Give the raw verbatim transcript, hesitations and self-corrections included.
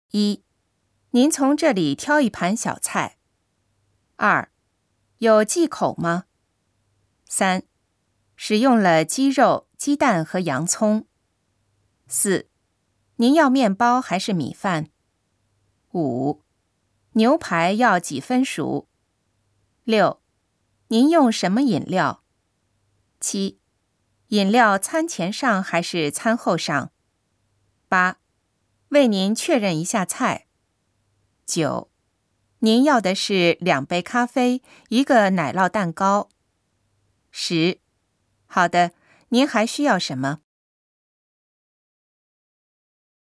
一、您从这里挑一盘小菜。二、有忌口吗？三、使用了鸡肉、鸡蛋和洋葱。四、您要面包还是米饭？五、牛排要几分熟？六、您用什么饮料？七、饮料餐前上还是餐后上？八、为您确认一下菜。九、您要的是两杯咖啡，一个奶酪蛋糕。十、好的，您还需要什么？